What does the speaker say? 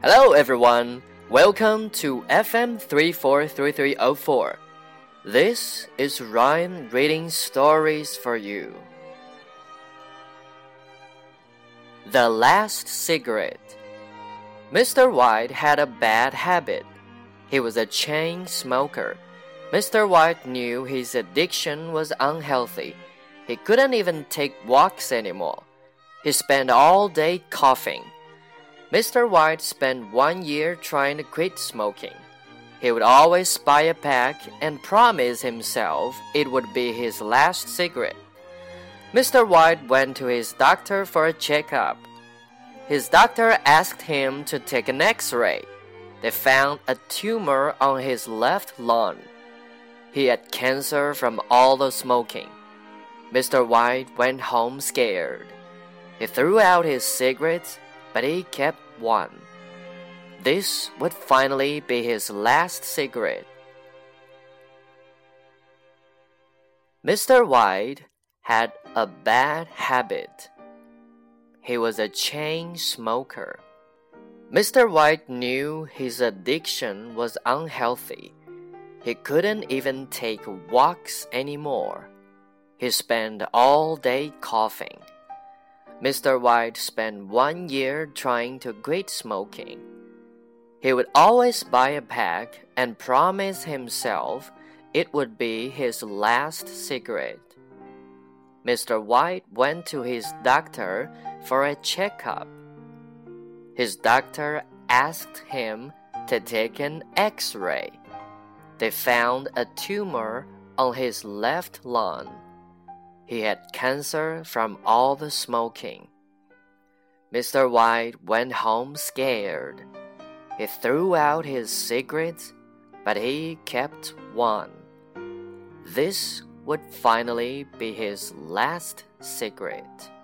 Hello everyone, welcome to FM 343304. This is Ryan reading stories for you. The Last Cigarette. Mr. White had a bad habit. He was a chain smoker. Mr. White knew his addiction was unhealthy. He couldn't even take walks anymore. He spent all day coughing.Mr. White spent 1 year trying to quit smoking. He would always buy a pack and promise himself it would be his last cigarette. Mr. White went to his doctor for a checkup. His doctor asked him to take an X-ray. They found a tumor on his left lung. He had cancer from all the smoking. Mr. White went home scared. He threw out his cigarettes.But he kept one. This would finally be his last cigarette. Mr. White had a bad habit. He was a chain smoker. Mr. White knew his addiction was unhealthy. He couldn't even take walks anymore. He spent all day coughing.Mr. White spent 1 year trying to quit smoking. He would always buy a pack and promise himself it would be his last cigarette. Mr. White went to his doctor for a checkup. His doctor asked him to take an X-ray. They found a tumor on his left lung.He had cancer from all the smoking. Mr. White went home scared. He threw out his cigarettes, but he kept one. This would finally be his last cigarette.